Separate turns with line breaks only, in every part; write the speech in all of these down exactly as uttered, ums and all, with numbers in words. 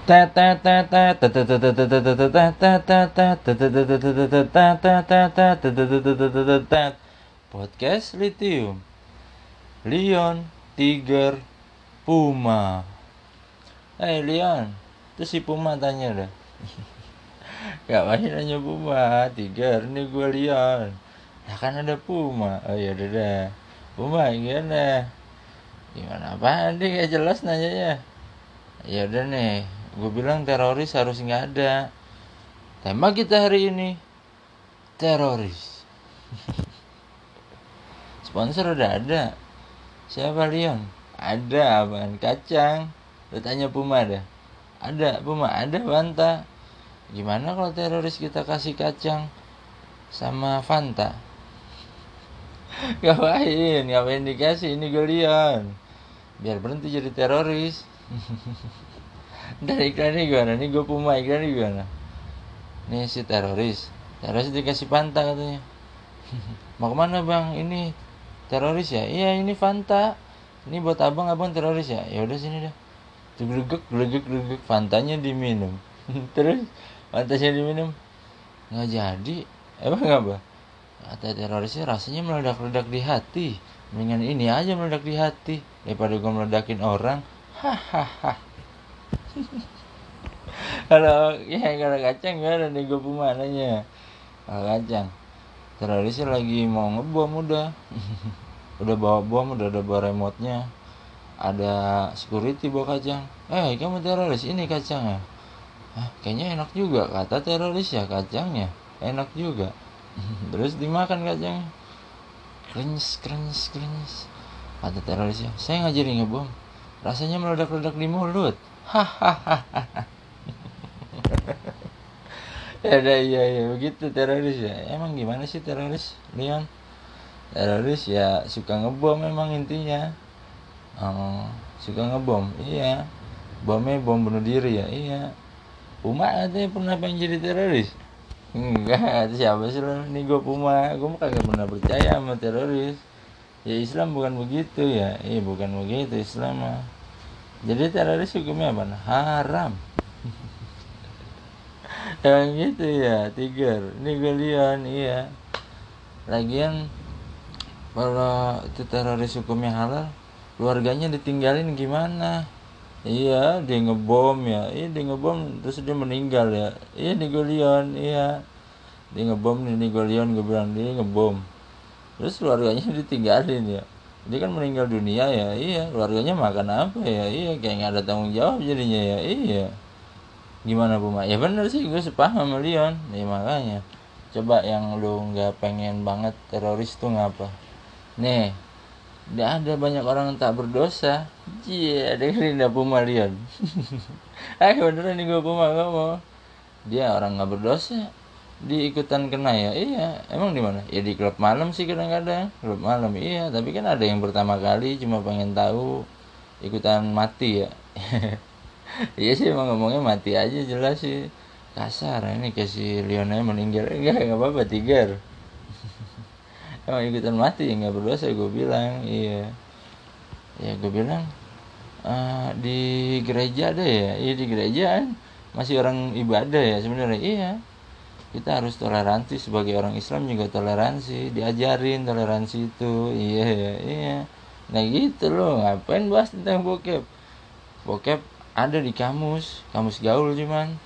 Podcast Lithium, Leon, Tiger, Puma. Eh Leon, terus si Puma tanya dah. Gak masih nanya Puma, Tiger, ini gue Leon. Nah kan ada Puma. Oh ya udah dah. Puma gimana? Gimana apaan dia gak jelas nanyanya. Ya udah nih, gue bilang teroris harus nggak ada. Tema kita hari ini teroris. Sponsor udah ada. Siapa Leon? Ada apaan? Kacang. Lu tanya Puma dah. Ada Puma, ada Fanta. Gimana kalau teroris kita kasih kacang sama Fanta? Ngapain? Ngapain dikasih? Ini gue Leon. Biar berhenti jadi teroris. Dari iklan ini gimana? Nih gue Puma, iklan ini gimana? Nih si teroris. Teroris dikasih Fanta katanya. Mau kemana bang? Ini teroris ya? Iya ini Fanta. Ini buat abang, abang teroris ya? Ya udah sini dah. Glegek, glegek, glegek. Fantanya diminum. Terus Fantanya diminum. Nggak jadi. Emang apa? Kata terorisnya rasanya meledak-ledak di hati. Mendingan ini aja meledak di hati daripada gue meledakin orang. Hahaha. Kalau ya kalau kacang gimana nih gue Puma nanya. Kalau kacang terorisnya lagi mau ngebom udah. Udah bawa bom, udah ada bawa remote-nya. Ada security bawa kacang. Eh kamu teroris, ini kacangnya. Hah, kayaknya enak juga kata teroris ya kacangnya. Enak juga. Terus dimakan kacangnya. Krenyes, krenyes, krenyes. Kata terorisnya, saya nggak jadi ngebom. Rasanya meledak-ledak di mulut. Hahaha. Ya udah iya iya begitu teroris ya. Emang gimana sih teroris, Leon? Teroris ya suka ngebom memang intinya. Oh, suka ngebom. Iya. Bomnya bom bunuh diri ya. Iya. Puma katanya pernah pengen jadi teroris. Enggak, itu siapa sih lo? Ini gue Puma. Gue mah kagak pernah percaya sama teroris. Ya Islam bukan begitu ya. Iya bukan begitu Islam mah. Jadi teroris hukumnya apa? Haram. Emang gitu ya, Tiger. Ini gue Leon, iya. Lagian kalau itu teroris hukumnya halal, keluarganya ditinggalin gimana? Iya, dia ngebom ya. Iya, dia ngebom terus dia meninggal ya. Iya, nih gue Leon, iya. Dia ngebom nih, nih gue Leon, gue bilang dia ngebom. Terus keluarganya ditinggalin ya. Dia kan meninggal dunia ya. Iya, keluarganya makan apa ya? Iya, kayak nggak ada tanggung jawab jadinya ya. Iya. Gimana Puma? Ya bener sih gue sepaham sama Leon. Ya makanya coba yang lu nggak pengen banget teroris tuh ngapa? Nih, tidak ada banyak orang yang tak berdosa. Iya, dengerin dah Puma Leon. Ayo beneran nih gue Puma ngomong. Dia orang nggak berdosa, di ikutan kena ya. Iya, emang di mana? Ya di klub malam sih kadang-kadang. Klub malam iya, tapi kan ada yang pertama kali cuma pengen tahu ikutan mati ya. Iya sih emang ngomongnya mati aja jelas sih. Kasar ini kayak si Lionel meninggal. Enggak, enggak apa-apa Tiger. Emang ikutan mati ya nggak berdosa gue bilang. Iya. Ya gue bilang uh, di gereja ada ya. Iya di gereja kan masih orang ibadah ya sebenarnya. Iya. Kita harus toleransi sebagai orang Islam juga toleransi. Diajarin toleransi itu. Iya ya. Iya. Nah gitu loh. Ngapain bahas tentang bokep? Bokep ada di kamus, kamus gaul cuman.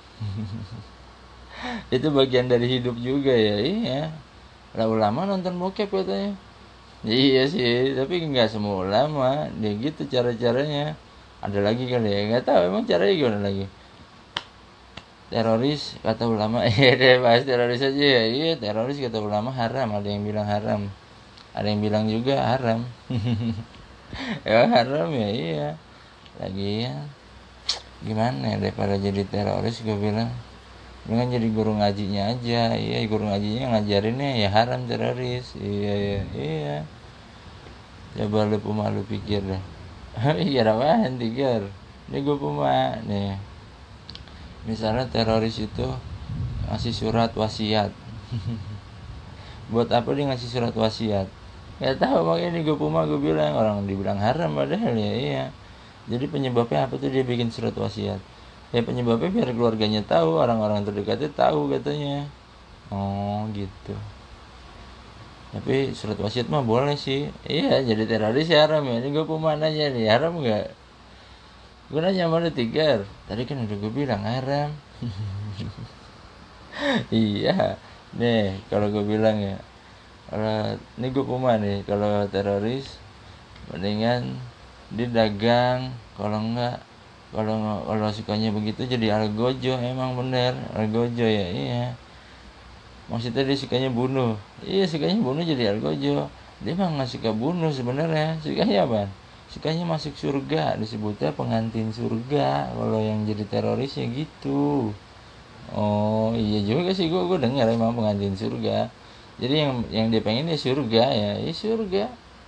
Itu bagian dari hidup juga ya, iya. Lah ulama nonton bokep katanya. Iya sih, tapi nggak semua ulama. Dia gitu cara-caranya. Ada lagi kali ya, nggak tahu emang caranya gimana lagi. Teroris kata ulama, iya deh bahas teroris aja ya. Iya teroris kata ulama haram, ada yang bilang haram. Ada yang bilang juga haram. Ya haram ya, iya. Lagi ya. Gimana ya daripada jadi teroris gue bilang dengan jadi guru ngajinya aja. Iya guru ngajinya ngajarinnya ya haram teroris. Iya iya iya. Coba lu Puma lu pikir deh. Iya apaan Tiger? Ini gue Puma nih. Misalnya teroris itu ngasih surat wasiat. Buat apa dia ngasih surat wasiat? Gak tahu makanya nih gue Puma gue bilang orang dibilang haram padahal ya iya. Jadi penyebabnya apa tuh dia bikin surat wasiat? Ya penyebabnya biar keluarganya tahu, orang-orang terdekatnya tahu katanya. Oh gitu. Tapi surat wasiat mah boleh sih. Iya, jadi teroris ya haram ya. Ini gue puma nanya nih, haram nggak? Gue nanya sama lu Tigar. Tadi kan udah gue bilang haram. Iya. Nih, kalau gue bilang ya, kalau ini gue puma nih, kalau teroris mendingan didagang, kalau enggak, kalau kalau sukanya begitu jadi algojo. Emang bener algojo ya. Iya, maksudnya dia sukanya bunuh. Iya, sukanya bunuh jadi algojo. Dia mah nggak suka bunuh sebenarnya. Sukanya apa? Sukanya masuk surga. Disebutnya pengantin surga kalau yang jadi teroris ya gitu. Oh iya juga sih, gue gue dengar emang pengantin surga. Jadi yang yang dia pengen ya surga ya. Ya surga.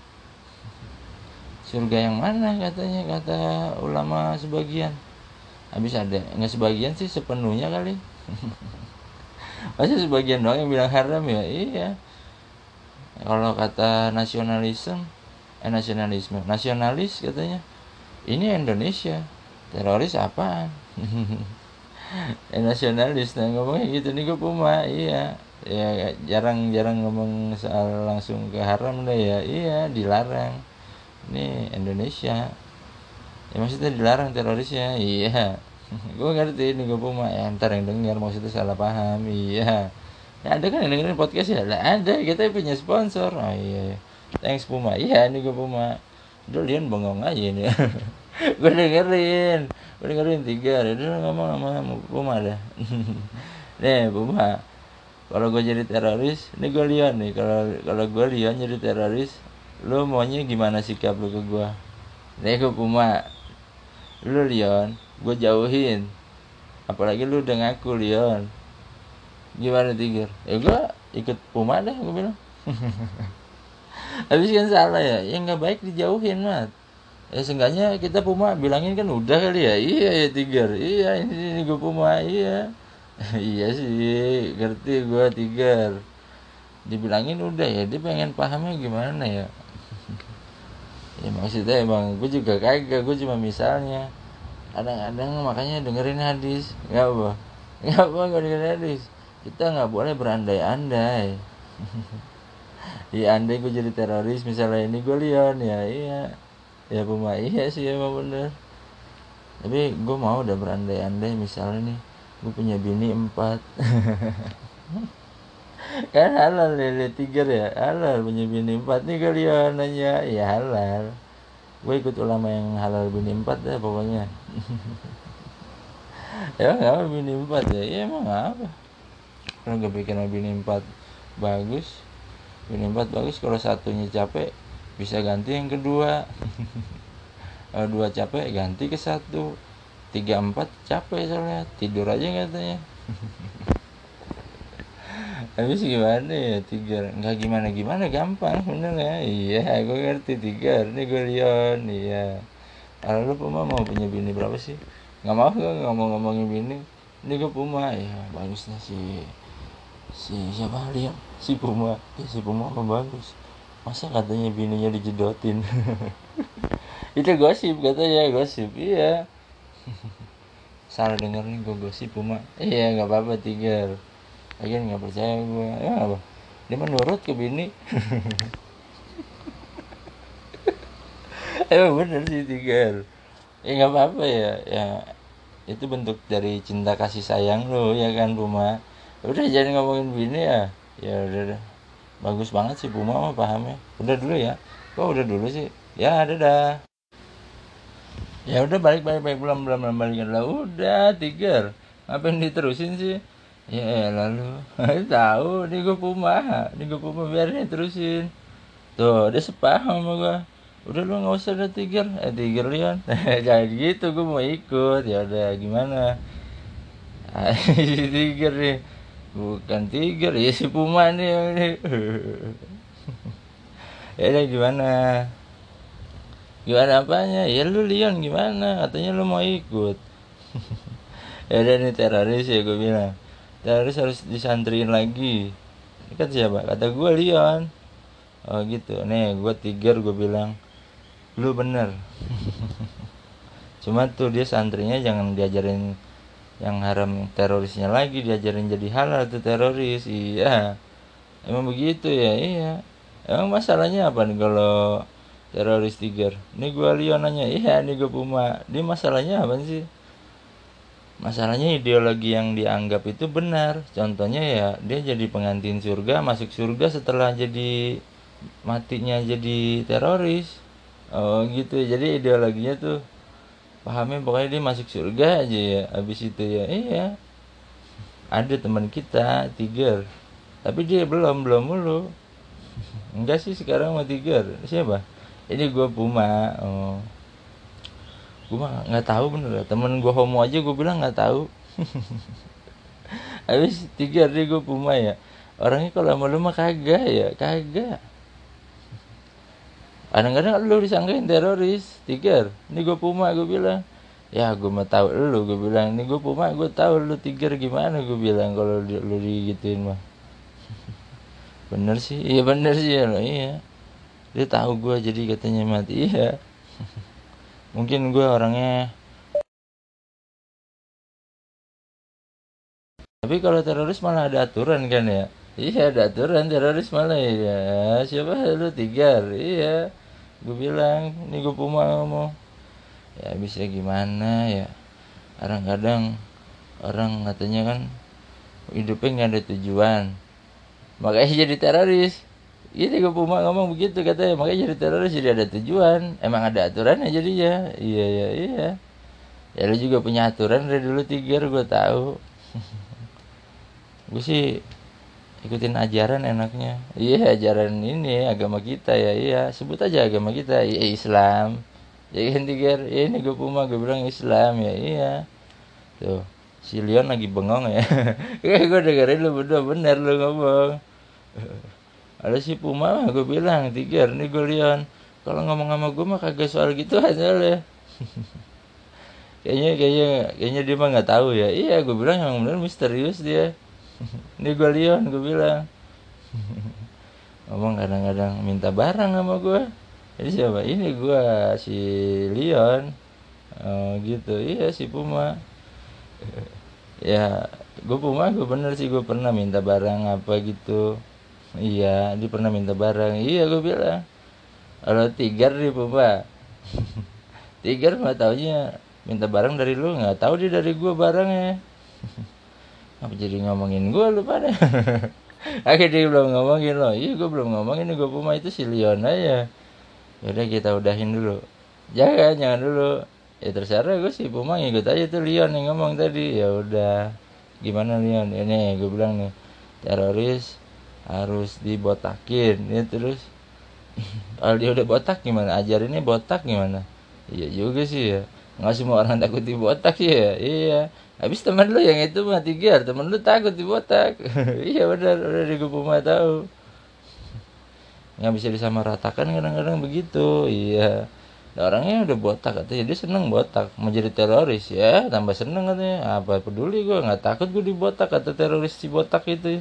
Surga yang mana katanya, kata ulama sebagian. Habis ada nggak sebagian sih, sepenuhnya kali. Masa sebagian doang yang bilang haram ya? Iya. Kalau kata nasionalisme, eh nasionalisme, nasionalis katanya, ini Indonesia, teroris apaan? eh nasionalis, nah ngomongnya gitu nih gue puma, iya. Ya jarang-jarang ngomong soal langsung ke haram deh ya, iya dilarang. Ini Indonesia. Ya maksudnya dilarang terorisnya, iya. Gue ngerti ini gue puma, ya ntar yang dengar maksudnya salah paham, iya. Ya ada kan yang dengerin podcast ya? Lah ada, kita punya sponsor. Oh iya, thanks Puma. Iya ini gue Puma. Udah Lian bengong aja ini. Gue dengerin, gue dengerin tiga. Udah ngomong sama Puma dah. Nih Puma, kalau gue jadi teroris, ini gue Lian nih. Kalau kalau gue Lian jadi teroris, lu maunya gimana sikap lu ke gue? Nih gue Puma, lu Lian, gue jauhin. Apalagi lu udah ngaku Lian. Gimana Tiger? Ya gue ikut Puma deh, gue bilang. Habis kan salah ya, yang nggak baik dijauhin mat. Ya seenggaknya kita Puma bilangin kan udah kali ya. Iya ya Tiger, iya ini, ini gue Puma, iya. Iya sih, ngerti gue Tiger. Dibilangin udah ya, dia pengen pahamnya gimana ya. Ya maksudnya emang gue juga kagak, gue cuma misalnya. Kadang-kadang makanya dengerin hadis, nggak apa, nggak apa nggak dengerin hadis. Kita nggak boleh berandai-andai. Ya andai gue jadi teroris misalnya, ini gue Leon ya, iya ya Puma, iya sih emang bener. Tapi gue mau udah berandai-andai misalnya nih, gue punya bini empat. Kan halal ya tiga ya, halal punya bini empat nih gue Leon nanya, ya halal. Gue ikut ulama yang halal bini empat deh pokoknya. Ya nggak apa bini empat ya, ya emang apa. Kalau gue bikin bini empat bagus, bini empat bagus, kalau satunya capek bisa ganti yang kedua. Kalau dua capek ganti ke satu, tiga empat capek soalnya tidur aja katanya. Habis gimana ya tiga, nggak gimana gimana, gampang bener ya. Iya gue ngerti tiga, ini gue Leon, iya. Kalau lu Puma mau punya bini berapa sih? Nggak mau, gue nggak mau ngomongin bini. Ini gue Puma, ya bagusnya si si siapa Leon, si Puma, ya si Puma apa bagus. Masa katanya bininya dijedotin. Itu gosip katanya, gosip, iya. Salah denger nih gue gosip Puma. Iya nggak apa-apa Tiger. Lagian nggak percaya gue. Ya apa? Dia menurut ke bini. Emang bener sih Tiger. Ya nggak apa-apa ya. Ya itu bentuk dari cinta kasih sayang lo ya kan Puma. Udah jangan ngomongin bini ya. Ya udah udah. Bagus banget sih Puma mah pahamnya. Udah dulu ya. Kok udah dulu sih? Ya dadah. Ya udah balik balik balik belum belum belum balikan lah, udah Tiger, ngapain diterusin sih? Ya lalu tahu nih gue Puma, nih gue Puma biarin terusin. Tuh dia sepaham sama gue. Udah lu nggak usah, ada Tiger, eh Tiger Leon. Jangan gitu, gue mau ikut. Ya udah gimana? Si Tiger nih, bukan Tiger ya si Puma nih yang ini. Ya udah gimana? Gimana apanya? Ya lu Leon gimana? Katanya lu mau ikut. Ya udah nih teroris ya gue bilang. Teroris harus disantriin lagi. Ini kan siapa? Kata gue Leon. Oh gitu. Nih gue Tiger gue bilang. Lu bener. Cuma tuh dia santrinya jangan diajarin yang haram terorisnya lagi diajarin jadi halal tuh teroris. Iya, emang begitu ya. Iya, emang masalahnya apa nih kalau teroris Tiger? Ini gua Leon nanya, iya nih gua Puma, dia masalahnya apa sih? Masalahnya ideologi yang dianggap itu benar. Contohnya ya dia jadi pengantin surga, masuk surga setelah jadi matinya jadi teroris. Oh gitu. Jadi ideologinya tuh pahamnya pokoknya dia masuk surga aja ya. Habis itu ya iya. Ada teman kita Tiger. Tapi dia belum belum mulu. Enggak sih sekarang sama Tiger. Siapa? Ini gue Puma. Oh. Gue mah nggak tahu bener. Temen gue homo aja gue bilang nggak tahu. Habis Tiger dia gue Puma ya. Orangnya kalau sama lu mah kagak ya, kagak. Kadang-kadang lu disangkain teroris, Tiger. Ini gue Puma gue bilang. Ya gue mah tahu lu gue bilang. Ini gue Puma gue tahu lu Tiger gimana gue bilang kalau lu digituin mah. Bener sih, iya bener sih ya lo, iya. Dia tahu gue jadi katanya mati, iya. Mungkin gue orangnya. Tapi kalau teroris malah ada aturan kan ya. Iya ada aturan teroris malah ya. Siapa lu Tiger, iya. Gue bilang, ini gue Puma ngomong. Ya bisa gimana ya. Kadang-kadang orang katanya kan hidupnya nggak ada tujuan. Makanya jadi teroris. Ini gue Puma ngomong begitu katanya. Makanya jadi teroris jadi ada tujuan. Emang ada aturannya jadinya. Iya iya iya. Ya lu juga punya aturan dari dulu Tiger gue tahu. Gue sih ikutin ajaran enaknya. Iya ajaran ini agama kita ya. Iya sebut aja agama kita. Iya Islam. Ya kan Tiger. Ini gue Puma gue bilang Islam ya. Iya. Tuh si Leon lagi bengong ya. Kayak gue dengerin lu berdua bener lu ngomong. Ada si Puma mah gue bilang Tiger nih gue Leon. Kalau ngomong sama gue mah kagak soal gitu aja lah. kayaknya kayaknya kayaknya dia mah nggak tahu ya. Iya gue bilang yang benar misterius dia. Ini gue Leon gue bilang. Ngomong kadang-kadang minta barang sama gue. Jadi siapa? Ini gue si Leon. Oh gitu. Iya si Puma. Ya gue Puma gue bener sih gue pernah minta barang apa gitu. Iya dia pernah minta barang. Iya gue bilang. Kalau Tiger di Puma. Tiger mah taunya minta barang dari lu, nggak tahu dia dari gue barangnya. Apa jadi ngomongin gue lu pada? Akhirnya dia belum ngomongin lo. Iya gue belum ngomongin gue Puma itu si Leon aja. Yaudah kita udahin dulu. Jangan jangan dulu. Ya terserah gue sih Puma ngikut aja tuh Leon yang ngomong tadi. Ya udah. Gimana Leon? Ini gue bilang nih teroris harus dibotakin. Ya terus kalau dia udah botak gimana? Ajarinnya botak gimana? Iya juga sih ya. Nggak semua orang takut dibotak sih ya. Iya. Habis teman lu yang itu mah Tiger, teman lu takut dibotak. Iya benar, udah di gue mah tahu. Nggak bisa disamaratakan kadang-kadang begitu. Iya. Nah, orangnya udah botak katanya dia seneng botak, mau jadi teroris ya, tambah seneng katanya. Apa peduli gue, nggak takut gue dibotak kata teroris si botak itu.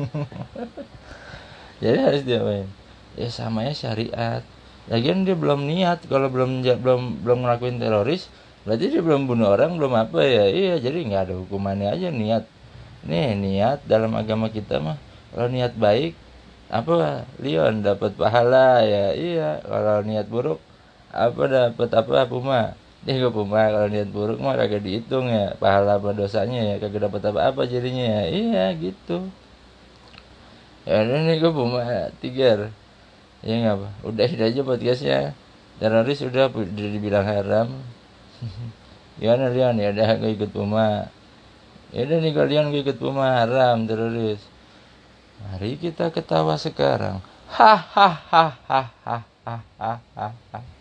Jadi harus diapain? Ya sama ya syariat. Lagian dia belum niat, kalau belum belum belum ngelakuin teroris, berarti dia belum bunuh orang, belum apa ya. Iya, jadi nggak ada hukumannya aja niat. Nih niat dalam agama kita mah, kalau niat baik apa Leon dapat pahala ya. Iya, kalau niat buruk apa dapat apa Puma. Nih gue Puma kalau niat buruk mah kagak dihitung ya pahala apa dosanya ya, kagak dapat apa-apa jadinya ya. Iya gitu. Ya udah nih gue Puma Tiger. Ya nggak apa, udahin aja podcastnya. Teroris udah udah dibilang haram. Gimana Leon? Ya udah gue ikut Puma. Ya udah nih kalian gue ikut Puma haram teroris. Mari kita ketawa sekarang. Hahaha.